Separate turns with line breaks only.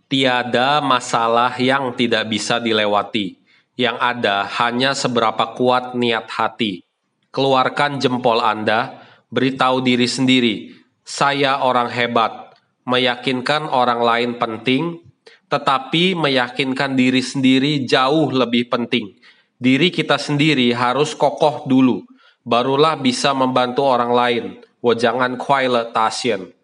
Tiada masalah yang tidak bisa dilewati. Yang ada hanya seberapa kuat niat hati. Keluarkan jempol Anda, beritahu diri sendiri, saya orang hebat. Meyakinkan orang lain penting, tetapi meyakinkan diri sendiri jauh lebih penting. Diri kita sendiri harus kokoh dulu, barulah bisa membantu orang lain. 我将按快乐达现